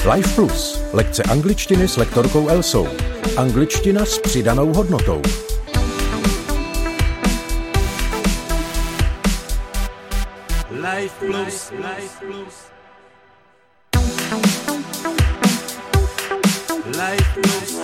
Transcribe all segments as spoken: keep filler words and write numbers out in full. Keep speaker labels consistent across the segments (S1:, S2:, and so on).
S1: Life Plus. Lekce angličtiny s lektorkou Elsou. Angličtina s přidanou hodnotou. Life Plus. Life Plus. Life Plus.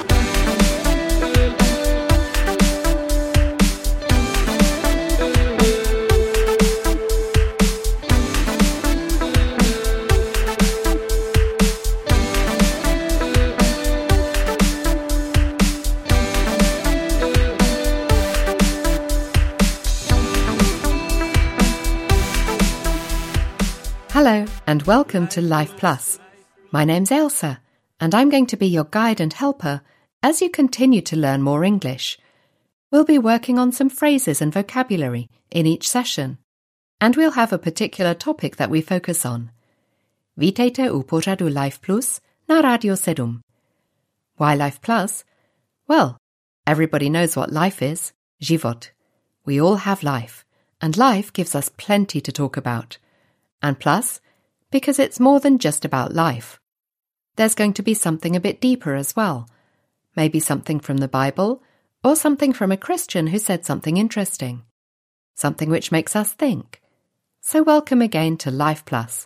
S2: Hello and welcome to Life Plus. My name's Elsa and I'm going to be your guide and helper as you continue to learn more English. We'll be working on some phrases and vocabulary in each session and we'll have a particular topic that we focus on. Vítejte u pořadu Life Plus na Radio sedm. Why Life Plus? Well, everybody knows what life is, život. We all have life and life gives us plenty to talk about. And plus, because it's more than just about life. There's going to be something a bit deeper as well. Maybe something from the Bible, or something from a Christian who said something interesting. Something which makes us think. So welcome again to Life Plus.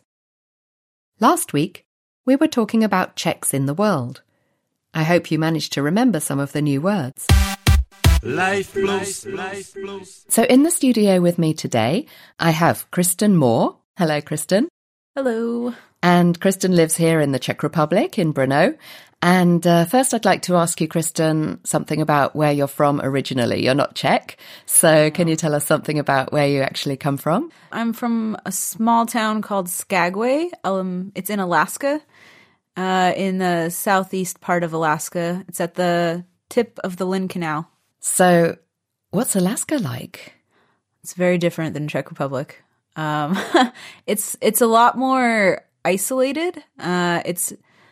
S2: Last week, we were talking about Czechs in the world. I hope you managed to remember some of the new words.
S1: Life Plus. Life Plus.
S2: So in the studio with me today, I have Kristen Moore. Hello, Kristen.
S3: Hello.
S2: And Kristen lives here in the Czech Republic, in Brno. And uh, first I'd like to ask you, Kristen, something about where you're from originally. You're not Czech, so can you tell us something about where you actually come from?
S3: I'm from a small town called Skagway. Um, it's in Alaska, uh, in the southeast part of Alaska. It's at the tip of the Lynn Canal.
S2: So what's Alaska like?
S3: It's very different than Czech Republic. Um, it's, it's a lot more isolated. Uh, it's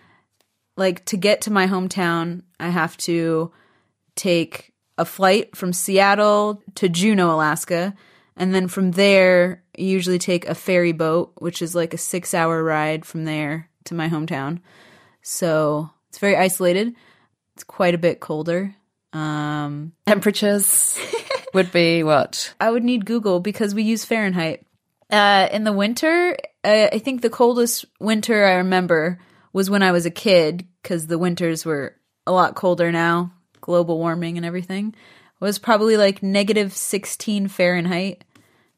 S3: like to get to my hometown, I have to take a flight from Seattle to Juneau, Alaska. And then from there, you usually take a ferry boat, which is like a six hour ride from there to my hometown. So it's very isolated. It's quite a bit colder. Um,
S2: Temperatures would be what?
S3: I would need Google because we use Fahrenheit. Uh, in the winter, uh, I think the coldest winter I remember was when I was a kid, because the winters were a lot colder now, global warming and everything. It was probably like negative sixteen Fahrenheit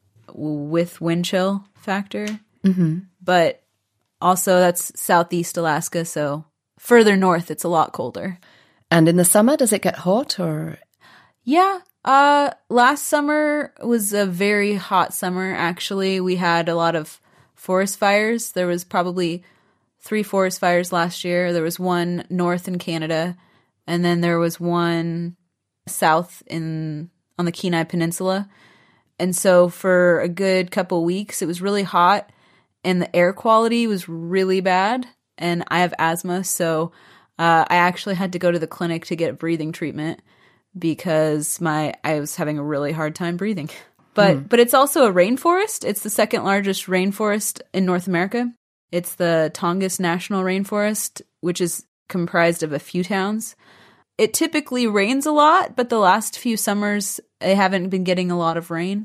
S3: with wind chill factor.
S2: Mm-hmm.
S3: But also that's southeast Alaska, so further north it's a lot colder.
S2: And in the summer, does it get hot or?
S3: Yeah. Uh, last summer was a very hot summer, actually. We had a lot of forest fires. There was probably three forest fires last year. There was one north in Canada, and then there was one south in on the Kenai Peninsula. And so for a good couple weeks, it was really hot, and the air quality was really bad, and I have asthma, so uh, I actually had to go to the clinic to get breathing treatment. Because my I was having a really hard time breathing. But mm. but it's also a rainforest. It's the second largest rainforest in North America. It's the Tongass National Rainforest, which is comprised of a few towns. It typically rains a lot, but the last few summers I haven't been getting a lot of rain.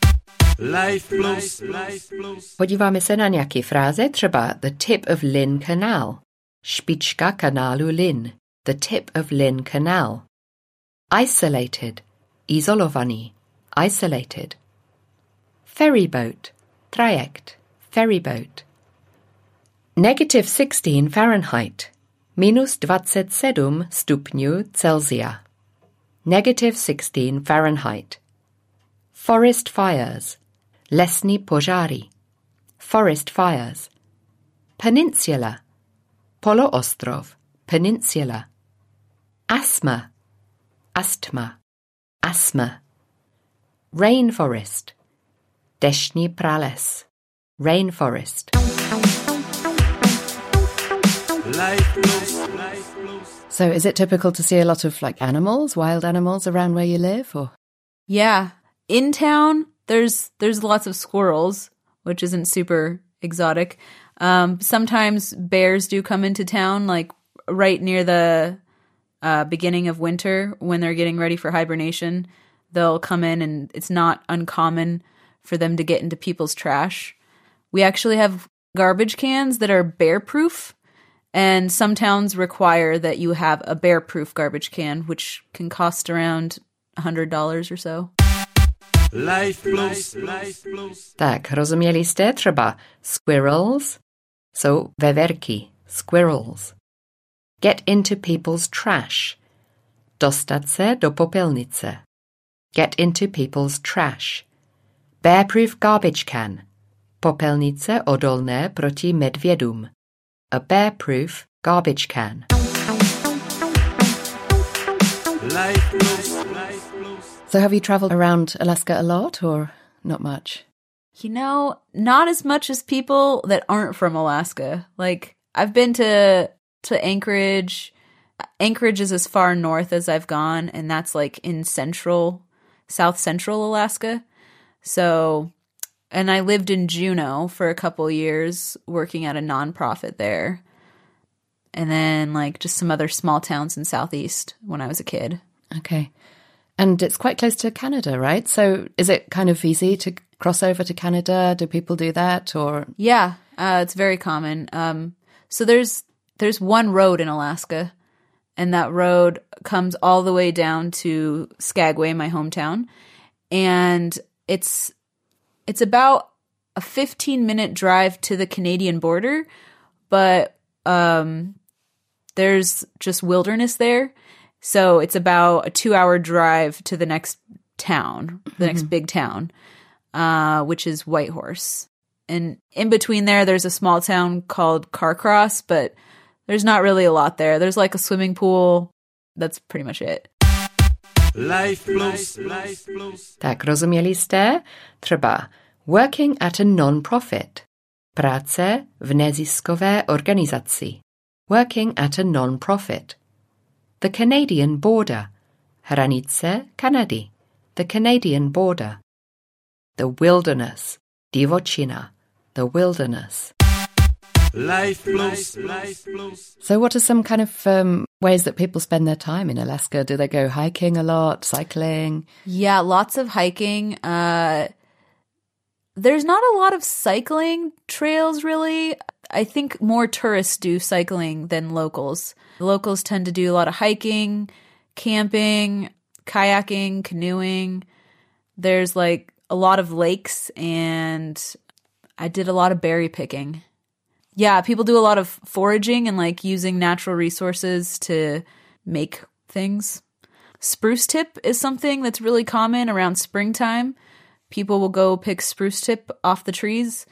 S1: Life Plus. Life Plus.
S2: Podíváme se na nějaké fráze, třeba the tip of Lynn Canal. Špička kanálu Lynn. The tip of Lynn Canal. Isolated, izolovaný, isolated. Ferryboat, trajekt, ferryboat. Negative sixteen Fahrenheit, minus dvacet sedm stupňů Celsia. Negative sixteen Fahrenheit. Forest fires, lesní požáry, forest fires. Peninsula, poloostrov, peninsula. Asthma, asthma, asthma. Rainforest, deštný prales, rainforest. So is it typical to see a lot of like animals, wild animals around where you live, or?
S3: Yeah. In town, there's there's lots of squirrels, which isn't super exotic. Um, sometimes bears do come into town, like right near the uh, beginning of winter when they're getting ready for hibernation. They'll come in, and it's not uncommon for them to get into people's trash. We actually have garbage cans that are bear-proof, and some towns require that you have a bear-proof garbage can, which can cost around one hundred dollars or so.
S4: Life Plus. Life Plus.
S2: Tak, rozuměli jste třeba squirrels? Jsou veverky, squirrels. Get into people's trash. Dostat se do popelnice. Get into people's trash. Bear-proof garbage can. Popelnice odolné proti medvědům. A bear-proof garbage can.
S4: Life Plus. Life Plus.
S2: So have you traveled around Alaska a lot or not much?
S3: You know, not as much as people that aren't from Alaska. Like, I've been to to Anchorage. Anchorage is as far north as I've gone, and that's like in central, south central Alaska. So, and I lived in Juneau for a couple years working at a nonprofit there. And then like just some other small towns in southeast when I was a kid.
S2: Okay. And it's quite close to Canada, right? So is it kind of easy to cross over to Canada? Do people do that or?
S3: Yeah, uh, it's very common. Um, so there's there's one road in Alaska, and that road comes all the way down to Skagway, my hometown. And it's it's about a fifteen minute drive to the Canadian border, but um, there's just wilderness there. So it's about a two-hour drive to the next town, the mm-hmm. next big town, uh, which is Whitehorse. And in between there, there's a small town called Carcross, but there's not really a lot there. There's like a swimming pool. That's pretty much it.
S4: Life Plus. Life Plus.
S2: Tak, rozuměli jste? Třeba working at a non-profit. Práce v neziskové organizaci. Working at a non-profit. The Canadian border. Hranice Kanady. The Canadian border. The wilderness. Divočina. The wilderness.
S4: Life Plus. Life Plus.
S2: So what are some kind of um, ways that people spend their time in Alaska? Do they go hiking a lot, cycling?
S3: Yeah, lots of hiking. Uh, there's not a lot of cycling trails, really. I think more tourists do cycling than locals. The locals tend to do a lot of hiking, camping, kayaking, canoeing. There's like a lot of lakes, and I did a lot of berry picking. Yeah, people do a lot of foraging and like using natural resources to make things. Spruce tip is something that's really common around springtime. People will go pick spruce tip off the trees.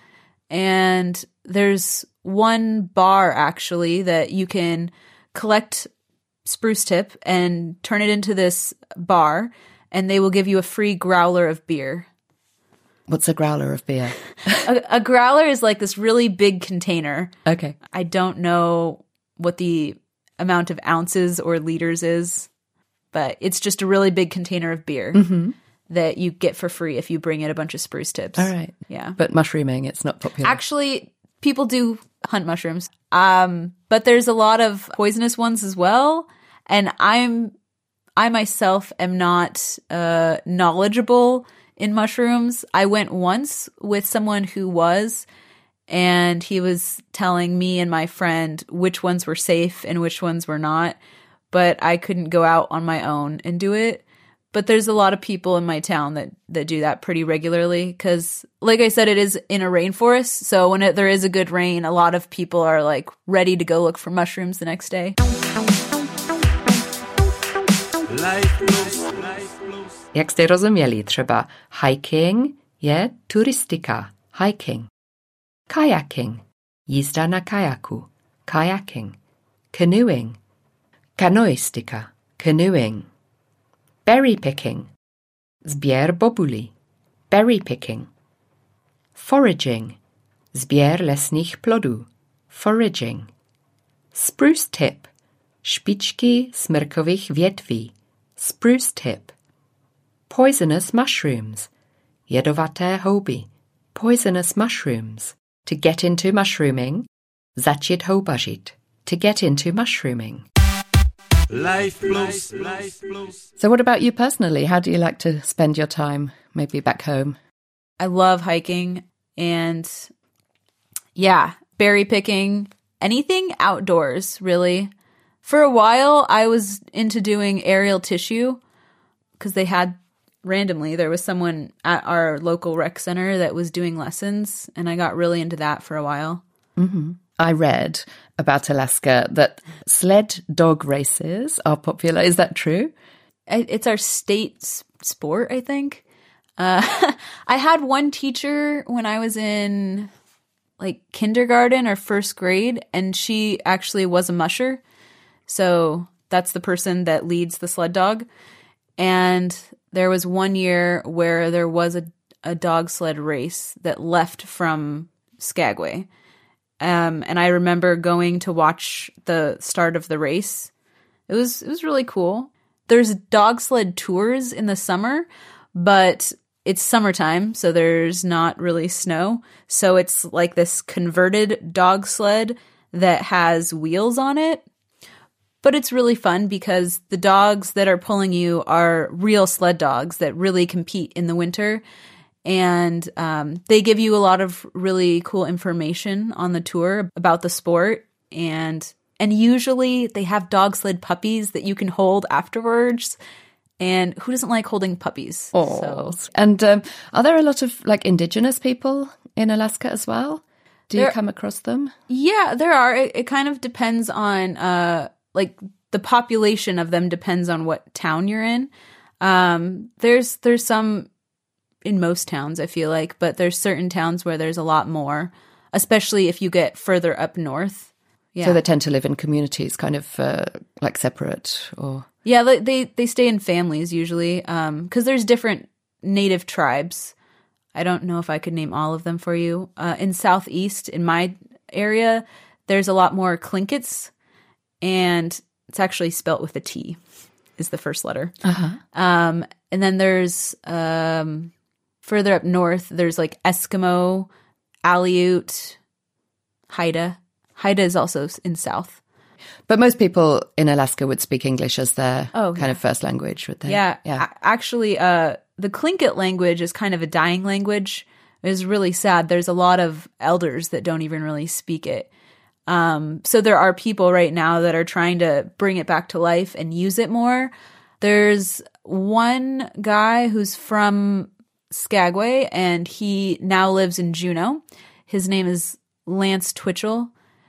S3: And there's one bar actually that you can collect spruce tip and turn it into this bar, and they will give you a free growler of beer.
S2: What's a growler of beer?
S3: a, a growler is like this really big container.
S2: Okay.
S3: I don't know what the amount of ounces or liters is, but it's just a really big container of beer mm-hmm. that you get for free if you bring in a bunch of spruce tips.
S2: All right.
S3: Yeah.
S2: But mushrooming, it's not popular.
S3: Actually, people do hunt mushrooms, um, but there's a lot of poisonous ones as well. And I'm, I myself am not uh, knowledgeable in mushrooms. I went once with someone who was, and he was telling me and my friend which ones were safe and which ones were not, but I couldn't go out on my own and do it. But there's a lot of people in my town that, that do that pretty regularly because, like I said, it is in a rainforest. So when it, there is a good rain, a lot of people are like ready to go look for mushrooms the next day.
S4: Life Plus. Life Plus.
S2: Jak jste rozuměli, třeba hiking je turistika, hiking. Kayaking, jízda na kajaku, kayaking. Canoeing, kanoistika, canoeing. Berry picking, sběr bobulí, berry picking. Foraging, sběr lesních plodů, foraging. Spruce tip, špičky smrkových větví, spruce tip. Poisonous mushrooms, jedovaté houby, poisonous mushrooms. to get into mushrooming. Začít houbařit. To get into mushrooming.
S4: Life plus, life plus.
S2: So what about you personally? How do you like to spend your time, maybe back home?
S3: I love hiking and, yeah, berry picking, anything outdoors, really. For a while, I was into doing aerial tissue because they had, randomly, there was someone at our local rec center that was doing lessons, and I got really into that for a while.
S2: Mm-hmm. I read about Alaska that sled dog races are popular. Is that true?
S3: It's our state sport, I think. Uh, I had one teacher when I was in like kindergarten or first grade, and she actually was a musher. So that's the person that leads the sled dog. And there was one year where there was a, a dog sled race that left from Skagway. Um, and I remember going to watch the start of the race. It was it was really cool. There's dog sled tours in the summer, but it's summertime, so there's not really snow. So it's like this converted dog sled that has wheels on it. But it's really fun because the dogs that are pulling you are real sled dogs that really compete in the winter. And um, they give you a lot of really cool information on the tour about the sport. And and usually they have dog sled puppies that you can hold afterwards. And who doesn't like holding puppies?
S2: Oh.
S3: So.
S2: And um, are there a lot of like indigenous people in Alaska as well? Do you
S3: There-
S2: come across them?
S3: Yeah, there are. It, it kind of depends on, uh, like, the population of them depends on what town you're in. Um, there's there's some in most towns, I feel like, but there's certain towns where there's a lot more, especially if you get further up north. Yeah.
S2: So they tend to live in communities, kind of uh, like separate or...
S3: Yeah, they they, they stay in families usually, because there's different native tribes. I don't know if I could name all of them for you. Uh, in Southeast, in my area, there's a lot more Tlinkits, and it's actually spelt with a T, is the first letter.
S2: Uh-huh.
S3: Um, and then there's um, further up north, there's like Eskimo, Aleut, Haida. Haida is also in South.
S2: But most people in Alaska would speak English as their
S3: Oh,
S2: kind
S3: yeah.
S2: of first language, would they?
S3: Yeah,
S2: Yeah.
S3: a- actually, uh, the Tlingit language is kind of a dying language. It's really sad. There's a lot of elders that don't even really speak it. Um, so there are people right now that are trying to bring it back to life and use it more. There's one guy who's from Skagway, and he now lives in Juneau. His name is Lance Twitchell.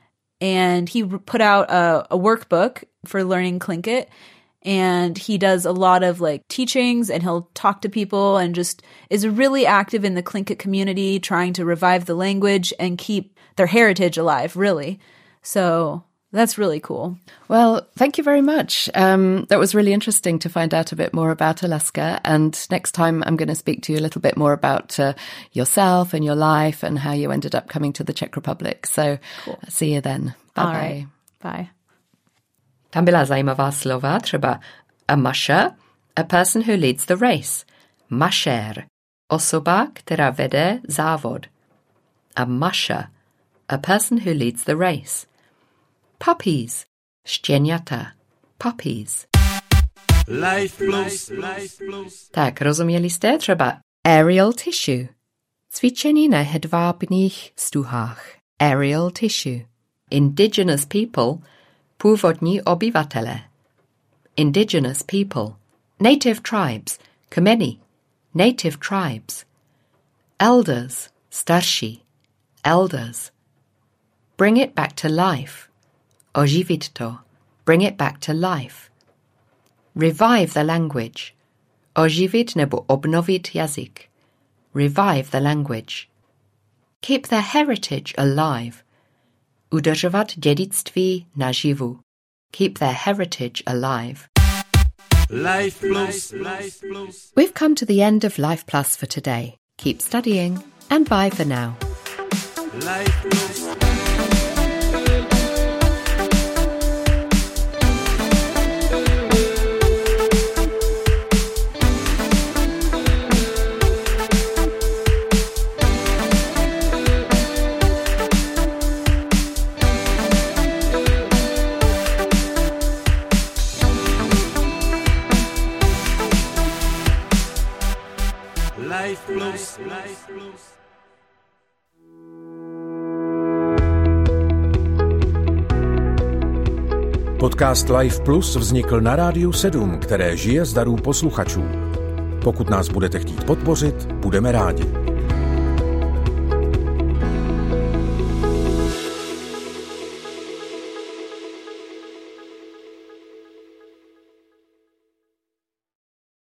S3: And he r- put out a, a workbook for learning Tlingit. And he does a lot of like teachings, and he'll talk to people and just is really active in the Tlingit community, trying to revive the language and keep their heritage alive, really. So that's really cool.
S2: Well, thank you very much. Um, that was really interesting to find out a bit more about Alaska. And next time I'm going to speak to you a little bit more about uh, yourself and your life and how you ended up coming to the Czech Republic. So
S3: Cool.
S2: see you then.
S3: All
S2: Bye-bye.
S3: right. Bye.
S2: Tam byla zajímavá slova, třeba a musher, a person who leads the race. Musher, osoba, která vede závod. A musher, a person who leads the race. Puppies, štěňata, puppies.
S4: Life plus, life plus.
S2: Tak, rozuměli jste třeba aerial tissue. Cvičení na hedvábných stuhách. Aerial tissue. Indigenous people, původní obyvatele. Indigenous people. Native tribes, kmeny. Native tribes. Elders, starší. Elders. Bring it back to life. Oživit to. Bring it back to life. Revive the language. Oživit nebo obnovit jazyk. Revive the language. Keep the heritage alive. Udržovat dědictví naživu. Keep their heritage alive.
S4: Life plus, life plus.
S2: We've come to the end of Life Plus for today. Keep studying, and bye for now.
S4: Life plus. Life Plus, Life Plus.
S1: Podcast Life Plus vznikl na Rádiu sedm, které žije z darů posluchačů. Pokud nás budete chtít podpořit, budeme rádi.